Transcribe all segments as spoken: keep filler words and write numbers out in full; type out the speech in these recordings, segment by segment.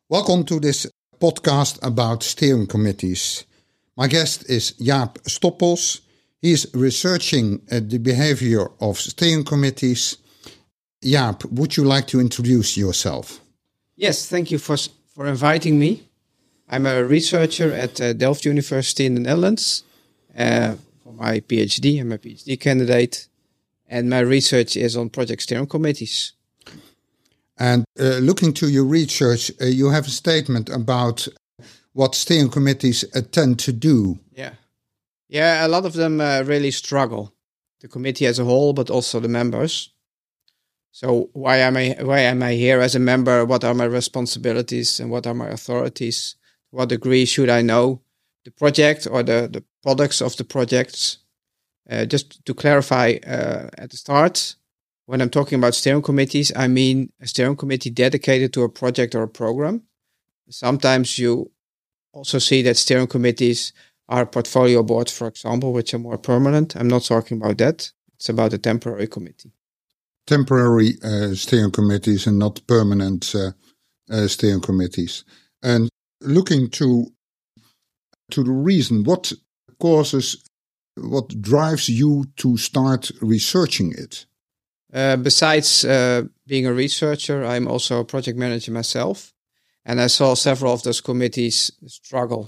Welcome to this podcast about steering committees. My guest is Jaap Stoppels. He is researching uh, the behavior of steering committees. Jaap, would you like to introduce yourself? Yes, thank you for for inviting me. I'm a researcher at uh, Delft University in the Netherlands uh, for my PhD. I'm a PhD candidate, and my research is on project steering committees. And uh, looking to your research, uh, you have a statement about what steering committees uh, tend to do. Yeah, yeah, a lot of them uh, really struggle. The committee as a whole, but also the members. So why am I why am I here as a member? What are my responsibilities and what are my authorities? To what degree should I know the project or the, the products of the projects? Uh, just to clarify uh, at the start, when I'm talking about steering committees, I mean a steering committee dedicated to a project or a program. Sometimes you also see that steering committees are portfolio boards, for example, which are more permanent. I'm not talking about that. It's about a temporary committee. Temporary uh, steering committees and not permanent uh, uh, steering committees. And looking to to the reason, what causes, what drives you to start researching it? Uh, besides uh, being a researcher, I'm also a project manager myself, and I saw several of those committees struggle.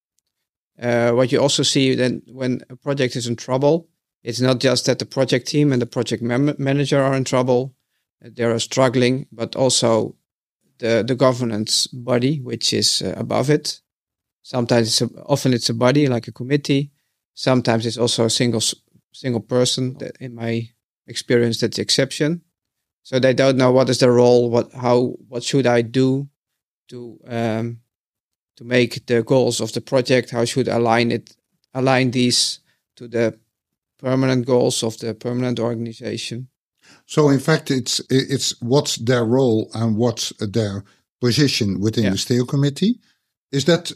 Uh, what you also see then when a project is in trouble, it's not just that the project team and the project mem- manager are in trouble, they are struggling, but also the, the governance body, which is uh, above it. Sometimes, it's a, often it's a body like a committee. Sometimes it's also a single single person. That in my experience, that's the exception. So they don't know what is their role, what how what should I do to um, to make the goals of the project. How should I align it align these to the permanent goals of the permanent organization. So in fact, it's it's what's their role and what's their position within yeah. the steering committee. Is that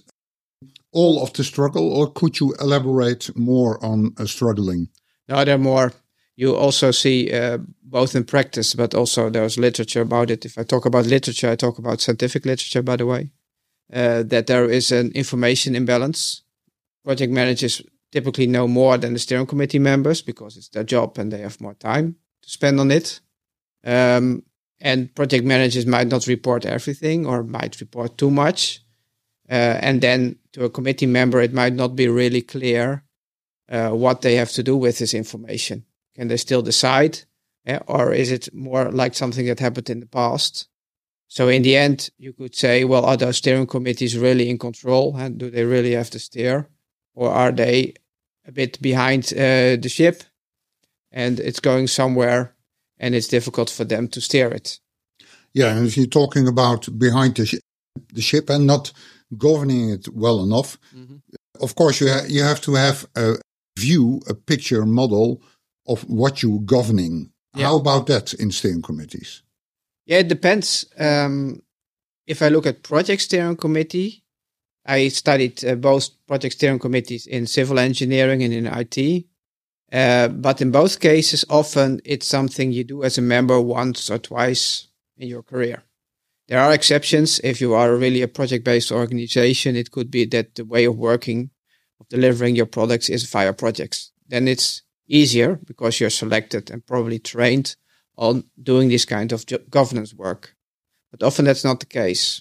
all of the struggle, or could you elaborate more on uh, struggling? No, there are more. You also see uh, both in practice, but also there's literature about it. If I talk about literature, I talk about scientific literature, by the way, uh, that there is an information imbalance. Project managers typically know more than the steering committee members because it's their job and they have more time to spend on it. Um, and project managers might not report everything or might report too much. Uh, and then to a committee member, it might not be really clear uh, what they have to do with this information. Can they still decide? Yeah, or is it more like something that happened in the past? So in the end, you could say, well, are those steering committees really in control? And do they really have to steer? Or are they a bit behind uh, the ship and it's going somewhere and it's difficult for them to steer it? Yeah, and if you're talking about behind the, sh- the ship and not governing it well enough, mm-hmm. of course you, ha- you have to have a view, a picture, model of what you're governing. Yeah. How about that in steering committees? Yeah, it depends. Um, if I look at project steering committee, I studied uh, both project steering committees in civil engineering and in I T. Uh, but in both cases, often it's something you do as a member once or twice in your career. There are exceptions. If you are really a project-based organization, it could be that the way of working, of delivering your products is via projects. Then it's easier because you're selected and probably trained on doing this kind of jo- governance work. But often that's not the case.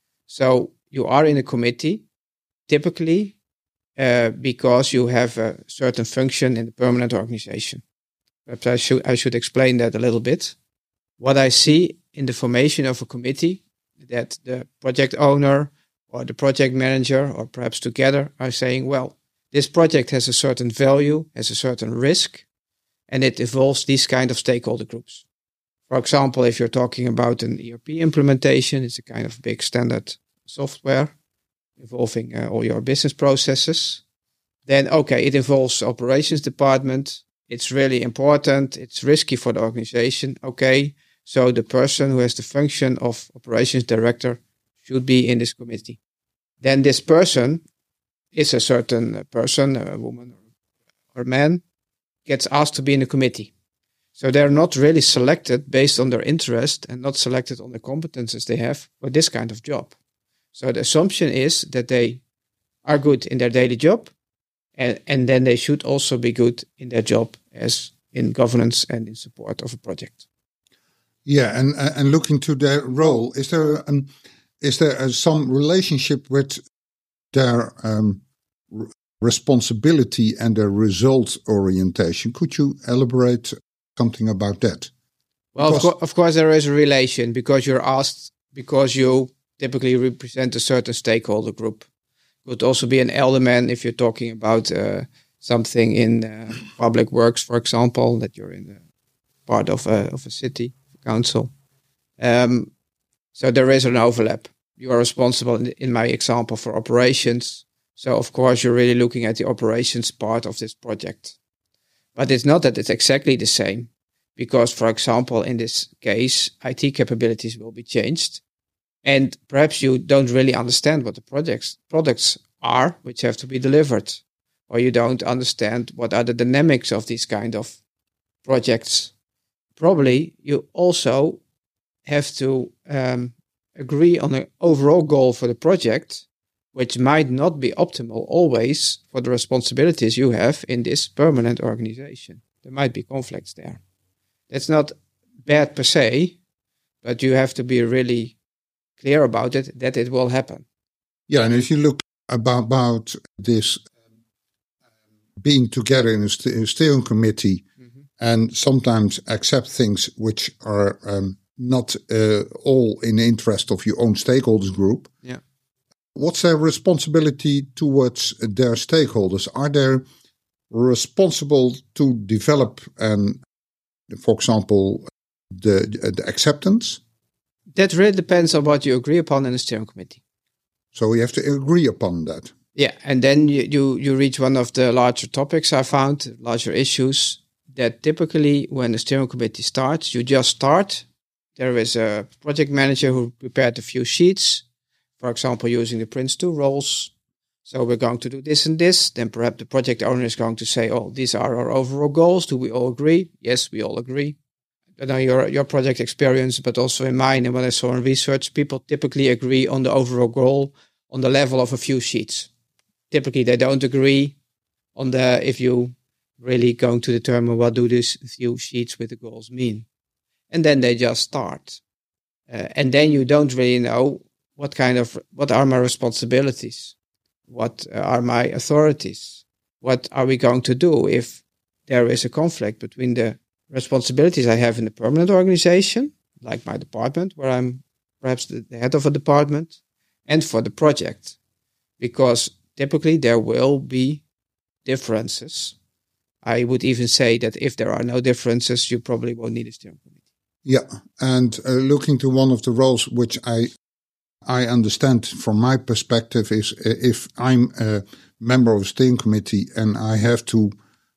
So you are in a committee, typically uh, because you have a certain function in the permanent organization. Perhaps I should, I should explain that a little bit. What I see in the formation of a committee, that the project owner or the project manager, or perhaps together, are saying, well, this project has a certain value, has a certain risk, and it involves these kind of stakeholder groups. For example, if you're talking about an E R P implementation, it's a kind of big standard software involving uh, all your business processes. Then, okay, it involves the operations department. It's really important. It's risky for the organization. Okay, so the person who has the function of operations director should be in this committee. Then this person is a certain person, a woman or a man, gets asked to be in the committee. So they're not really selected based on their interest and not selected on the competences they have for this kind of job. So the assumption is that they are good in their daily job, and, and then they should also be good in their job as in governance and in support of a project. Yeah, and and looking to their role, is there um, is there uh, some relationship with their um, r- responsibility and their result orientation? Could you elaborate something about that? Well, of, co- of course, there is a relation because you're asked because you typically represent a certain stakeholder group. Could also be an alderman if you're talking about uh, something in uh, public works, for example, that you're in a part of a of a city council. Um, so there is an overlap. You are responsible, in, in my example, for operations. So of course you're really looking at the operations part of this project. But it's not that it's exactly the same, because, for example, in this case, I T capabilities will be changed. And perhaps you don't really understand what the projects products are, which have to be delivered. Or you don't understand what are the dynamics of these kind of projects. Probably you also have to um, agree on an overall goal for the project, which might not be optimal always for the responsibilities you have in this permanent organization. There might be conflicts there. That's not bad per se, but you have to be really clear about it, that it will happen. Yeah, and if you look about, about this being together in a, st- a steering committee mm-hmm. and sometimes accept things which are um, not uh, all in the interest of your own stakeholders group. Yeah. What's their responsibility towards their stakeholders? Are they responsible to develop, and, for example, the, the acceptance? That really depends on what you agree upon in the steering committee. So you have to agree upon that. Yeah, and then you, you, you reach one of the larger topics I found, larger issues, that typically when the steering committee starts, you just start. There is a project manager who prepared a few sheets, for example, using the Prince two roles. So we're going to do this and this. Then perhaps the project owner is going to say, oh, these are our overall goals. Do we all agree? Yes, we all agree. I know your, your project experience, but also in mine and what I saw in research, people typically agree on the overall goal on the level of a few sheets. Typically, they don't agree on the if you really going to determine what do these few sheets with the goals mean. And then they just start. Uh, and then you don't really know what kind of, what are my responsibilities? What are my authorities? What are we going to do if there is a conflict between the responsibilities I have in the permanent organization, like my department, where I'm perhaps the, the head of a department, and for the project? Because typically there will be differences. I would even say that if there are no differences, you probably won't need a steering committee. Yeah, and uh, looking to one of the roles which I I understand from my perspective is uh, if I'm a member of a steering committee and I have to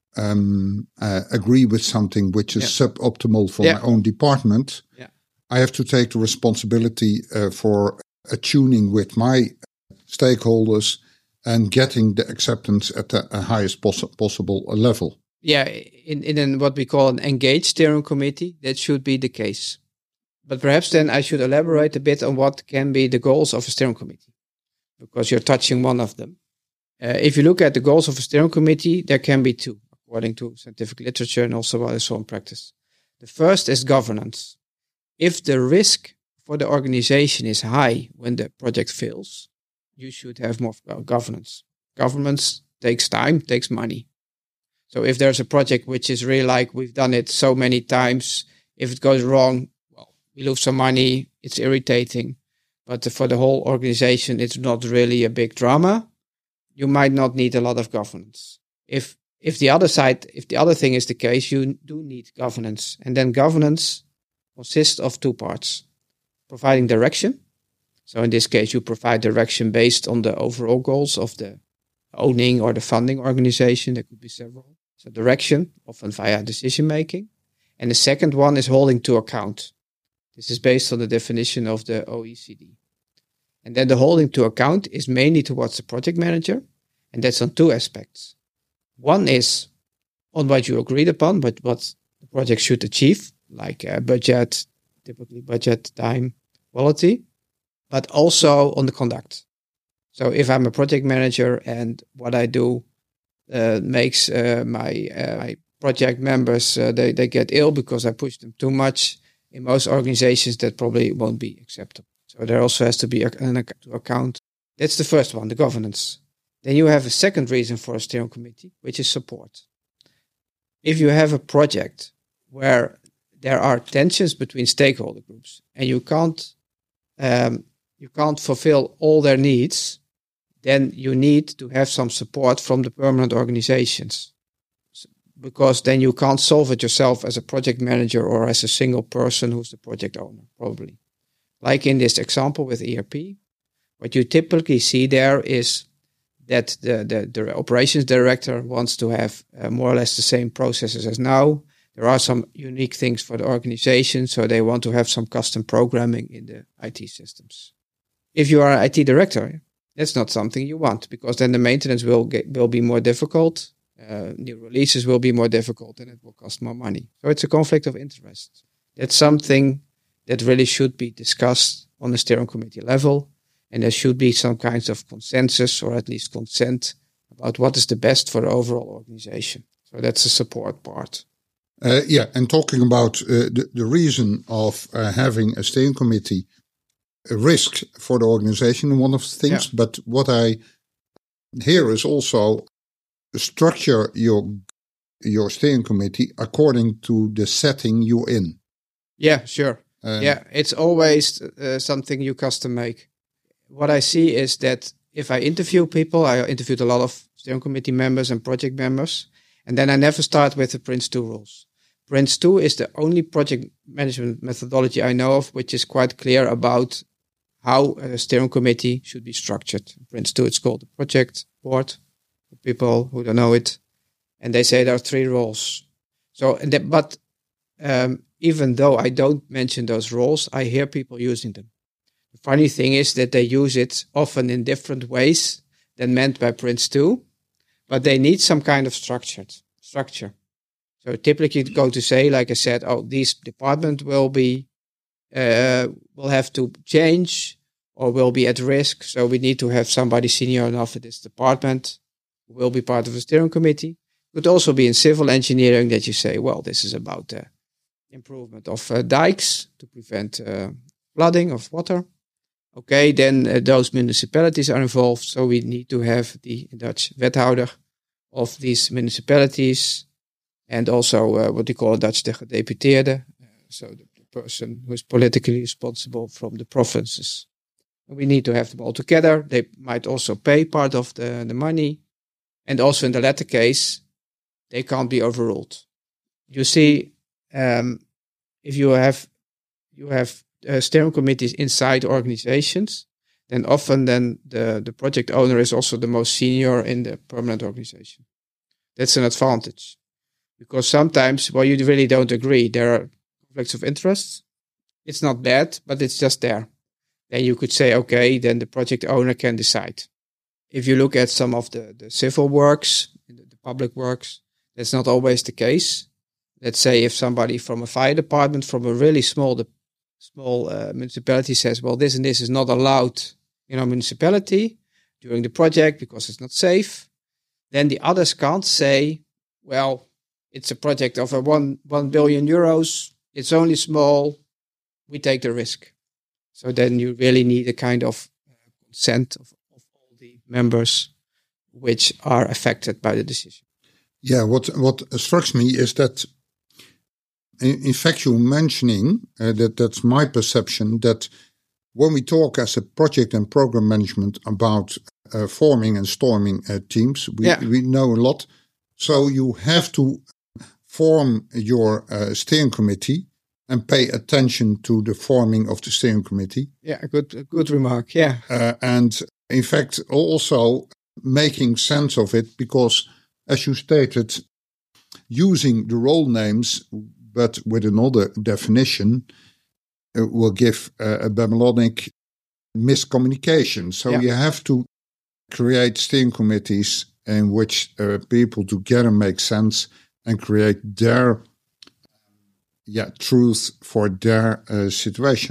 um, uh, agree with something which is yeah. suboptimal for yeah. my own department, yeah. I have to take the responsibility uh, for attuning with my stakeholders and getting the acceptance at the uh, highest poss- possible level. Yeah, in, in what we call an engaged steering committee, that should be the case. But perhaps then I should elaborate a bit on what can be the goals of a steering committee, because you're touching one of them. Uh, if you look at the goals of a steering committee, there can be two, according to scientific literature and also what I saw in practice. The first is governance. If the risk for the organization is high when the project fails, you should have more governance. Governance takes time, takes money. So if there's a project which is really like we've done it so many times, if it goes wrong, well, we lose some money, it's irritating. But for the whole organization, it's not really a big drama. You might not need a lot of governance. If if the other side, if the other thing is the case, you do need governance. And then governance consists of two parts. Providing direction. So in this case, you provide direction based on the overall goals of the owning or the funding organization. There could be several. So direction, often via decision making. And the second one is holding to account. This is based on the definition of the O E C D. And then the holding to account is mainly towards the project manager. And that's on two aspects. One is on what you agreed upon, but what the project should achieve, like uh, budget, typically budget, time, quality. but also on the conduct. So if I'm a project manager and what I do uh, makes uh, my uh, my project members, uh, they, they get ill because I push them too much, in most organizations that probably won't be acceptable. So there also has to be an to account. That's the first one, the governance. Then you have a second reason for a steering committee, which is support. If you have a project where there are tensions between stakeholder groups and you can't um, you can't fulfill all their needs, then you need to have some support from the permanent organizations, because then you can't solve it yourself as a project manager or as a single person who's the project owner, probably. Like in this example with E R P, what you typically see there is that the, the, the operations director wants to have uh, more or less the same processes as now. There are some unique things for the organization, so they want to have some custom programming in the I T systems. If you are an I T director, that's not something you want, because then the maintenance will get, will be more difficult. Uh, new releases will be more difficult and it will cost more money. So it's a conflict of interest. That's something that really should be discussed on the steering committee level. And there should be some kinds of consensus, or at least consent, about what is the best for the overall organization. So that's the support part. Uh, yeah, and talking about uh, the, the reason of uh, having a steering committee, a risk for the organization, one of the things. Yeah. But what I hear is also structure your your steering committee according to the setting you're in. Yeah, sure. Um, yeah, it's always uh, something you custom make. What I see is that if I interview people, I interviewed a lot of steering committee members and project members, and then I never start with the Prince two rules. Prince two is the only project management methodology I know of which is quite clear about how a steering committee should be structured. Prince two, it's called the project board, for people who don't know it. And they say there are three roles. So, that, but um, even though I don't mention those roles, I hear people using them. The funny thing is that they use it often in different ways than meant by Prince two, but they need some kind of structured structure. So typically you go to say, like I said, oh, this department will be, uh, will have to change or will be at risk. So we need to have somebody senior enough in this department who will be part of the steering committee. It could also be in civil engineering that you say, well, this is about the improvement of uh, dikes to prevent uh, flooding of water. Okay, then uh, those municipalities are involved. So we need to have the in Dutch wethouder of these municipalities. And also uh, what we call in Dutch the gedeputeerde, uh, so the, the person who is politically responsible from the provinces. And we need to have them all together. They might also pay part of the, the money. And also in the latter case, they can't be overruled. You see, um, if you have you have uh, steering committees inside organizations, then often then the, the project owner is also the most senior in the permanent organization. That's an advantage. Because sometimes, well, you really don't agree. There are conflicts of interest. It's not bad, but it's just there. Then you could say, okay, then the project owner can decide. If you look at some of the, the civil works, the public works, that's not always the case. Let's say if somebody from a fire department, from a really small de- small uh, municipality says, well, this and this is not allowed in our municipality during the project because it's not safe, then the others can't say, well, it's a project of a one one billion euros. It's only small. We take the risk. So then you really need a kind of uh, consent of, of all the members which are affected by the decision. Yeah, what what strikes me is that, in, in fact, you're mentioning uh, that that's my perception that when we talk as a project and program management about uh, forming and storming uh, teams, we yeah. we know a lot. So you have to form your uh, steering committee and pay attention to the forming of the steering committee. Yeah, a good, a good remark, yeah. Uh, and in fact, also making sense of it because, as you stated, using the role names but with another definition uh, will give uh, a Babylonic miscommunication. So yeah. you have to create steering committees in which uh, people together make sense and create their yeah truth for their uh, situation.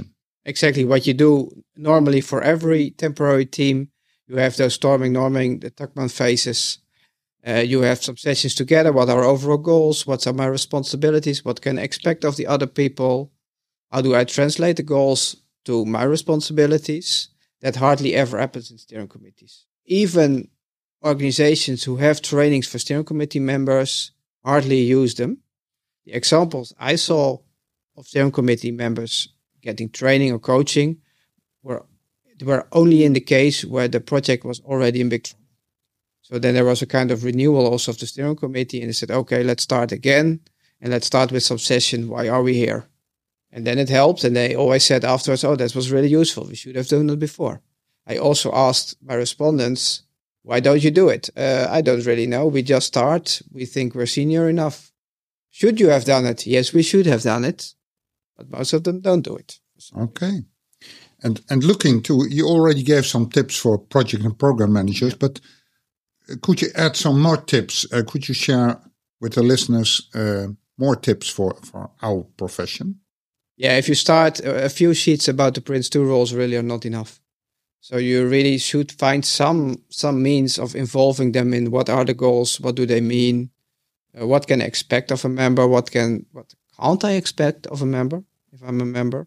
exactly what you do normally for every temporary team. You have those storming, norming, the Tuckman phases. Uh, you have some sessions together. What are overall goals? What are my responsibilities? What can I expect of the other people? How do I translate the goals to my responsibilities? That hardly ever happens in steering committees. Even organizations who have trainings for steering committee members hardly use them. The examples I saw of steering committee members getting training or coaching were, were only in the case where the project was already in big trouble. So then there was a kind of renewal also of the steering committee, and they said, okay, let's start again, and let's start with some session. Why are we here? And then it helped, and they always said afterwards, oh, that was really useful. We should have done it before. I also asked my respondents, why don't you do it? Uh, I don't really know. We just start. We think we're senior enough. Should you have done it? Yes, we should have done it. But most of them don't do it. Okay. And and looking to, you already gave some tips for project and program managers, but could you add some more tips? Uh, could you share with the listeners uh, more tips for, for our profession? Yeah, if you start, a few sheets about the Prince two roles really are not enough. So you really should find some some means of involving them in what are the goals, what do they mean, uh, what can I expect of a member, what can what can't I expect of a member if I'm a member.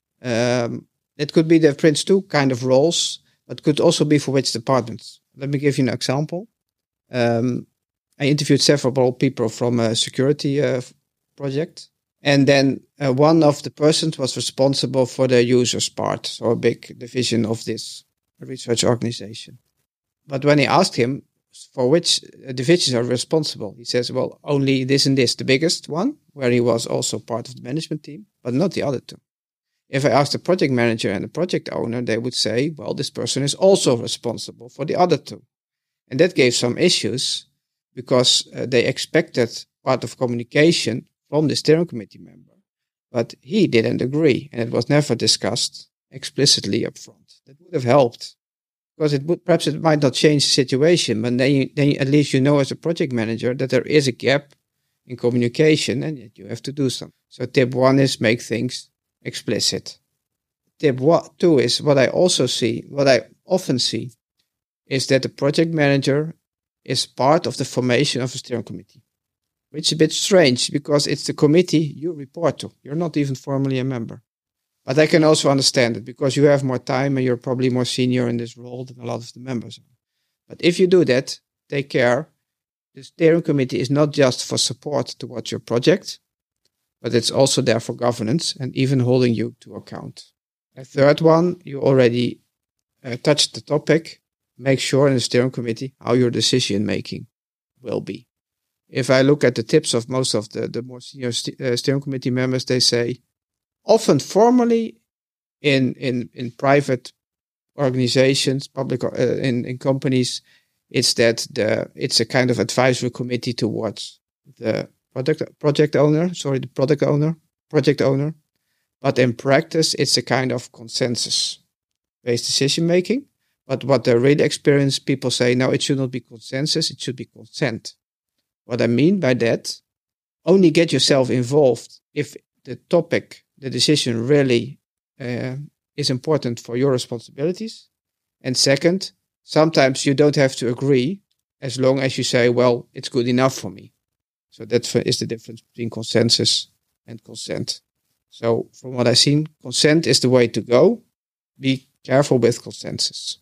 Um, it could be the Prince two kind of roles, but could also be for which departments. Let me give you an example. Um, I interviewed several people from a security uh, project. And then uh, one of the persons was responsible for the users part, so a big division of this research organization. But when he asked him for which divisions are responsible, he says, well, only this and this, the biggest one, where he was also part of the management team, but not the other two. If I asked the project manager and the project owner, they would say, well, this person is also responsible for the other two. And that gave some issues because uh, they expected part of communication from the steering committee member, but he didn't agree, and it was never discussed explicitly up front. That would have helped, because it would perhaps it might not change the situation, but then, you, then at least you know as a project manager that there is a gap in communication and that you have to do something. So tip one is make things explicit. Tip one, two is what I also see, what I often see, is that the project manager is part of the formation of a steering committee. Which is a bit strange because it's the committee you report to. You're not even formally a member. But I can also understand it because you have more time and you're probably more senior in this role than a lot of the members are. But if you do that, take care. The steering committee is not just for support towards your project, but it's also there for governance and even holding you to account. A third one, you already uh, touched the topic. Make sure in the steering committee how your decision making will be. If I look at the tips of most of the, the more senior st- uh, steering committee members, they say, often formally in in, in private organizations, public uh, in, in companies, it's that the it's a kind of advisory committee towards the product project owner, sorry, the product owner, project owner. But in practice, it's a kind of consensus-based decision making. But what the really experienced people say, no, it should not be consensus, it should be consent. What I mean by that, only get yourself involved if the topic, the decision really uh, is important for your responsibilities. And second, sometimes you don't have to agree as long as you say, well, it's good enough for me. So that is the difference between consensus and consent. So from what I've seen, consent is the way to go. Be careful with consensus.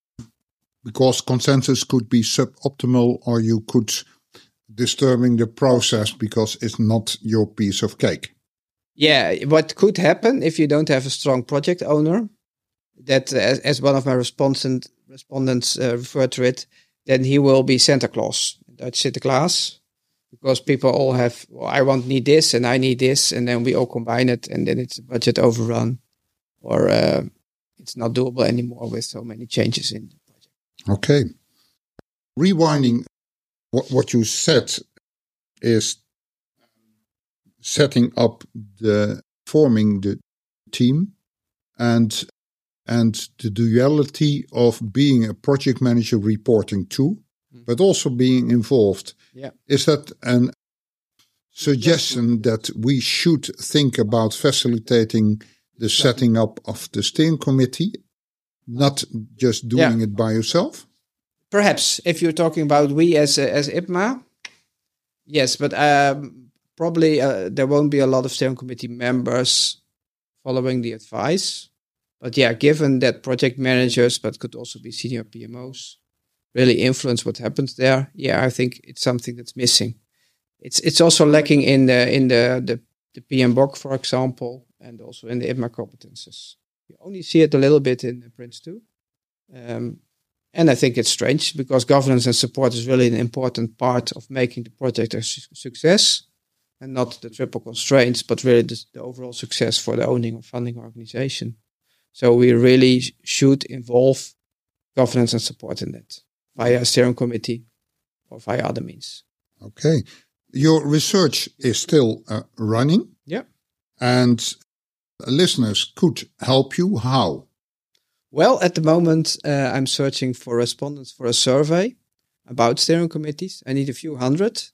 Because consensus could be suboptimal, or you could disturbing the process because it's not your piece of cake. Yeah, what could happen if you don't have a strong project owner, that uh, as, as one of my respondent, respondents uh, referred to it, then he will be Santa Claus, Dutch Sinterklaas, because people all have, well, I want need this and I need this, and then we all combine it, and then it's a budget overrun, or uh, it's not doable anymore with so many changes in the project. Okay. Rewinding what, what you said is setting up the, forming the team and and the duality of being a project manager reporting to, mm. but also being involved. Yeah. Is that an suggestion that we should think about facilitating the setting up of the steering committee, not just doing Yeah. it by yourself? Perhaps if you're talking about we as a, as I P M A, yes, but um, probably uh, there won't be a lot of steering committee members following the advice. But yeah, given that project managers, but could also be senior P M Os, really influence what happens there, yeah, I think it's something that's missing. It's it's also lacking in the in the the, the P M B O C, for example, and also in the I P M A competences. You only see it a little bit in Prince two. Um, and I think it's strange because governance and support is really an important part of making the project a su- success, and not the triple constraints, but really the, the overall success for the owning or funding organization. So we really sh- should involve governance and support in that via a steering committee or via other means. Okay. Your research is still uh, running. Yeah. And listeners could help you. How? Well, at the moment, uh, I'm searching for respondents for a survey about steering committees. I need a few hundred.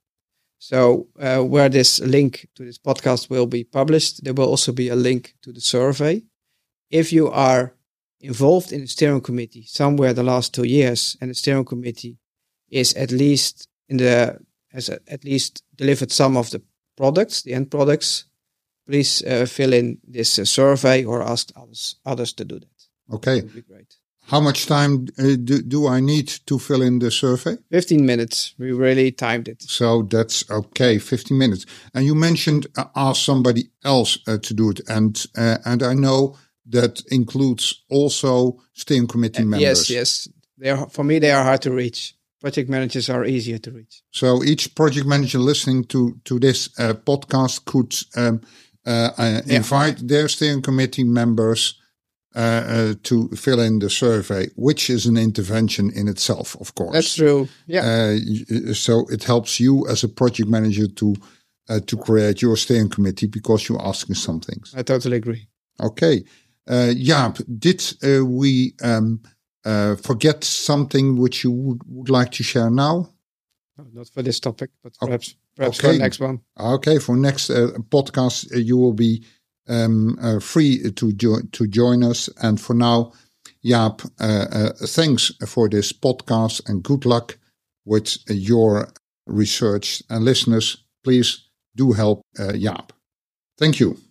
So uh, where this link to this podcast will be published, there will also be a link to the survey. If you are involved in a steering committee somewhere the last two years, and the steering committee is at least in the has at least delivered some of the products, the end products, please uh, fill in this uh, survey or ask others others to do that. Okay. That would be great. How much time uh, do, do I need to fill in the survey? fifteen minutes. We really timed it. So that's okay, fifteen minutes. And you mentioned uh, ask somebody else uh, to do it. And uh, and I know that includes also steering committee Uh, members. Yes, yes. They are, for me, they are hard to reach. Project managers are easier to reach. So each project manager listening to, to this uh, podcast could um, uh, uh, invite yeah. their steering committee members uh, uh, to fill in the survey, which is an intervention in itself, of course. That's true. Yeah. Uh, so it helps you as a project manager to uh, to create your steering committee because you're asking some things. I totally agree. Okay. Uh, Jaap, did uh, we um, uh, forget something which you would, would like to share now? No, not for this topic, but perhaps perhaps okay. for the next one. Okay, for next uh, podcast, uh, you will be um, uh, free to, jo- to join us. And for now, Jaap, uh, uh, thanks for this podcast and good luck with uh, your research. And listeners, please do help uh, Jaap. Thank you.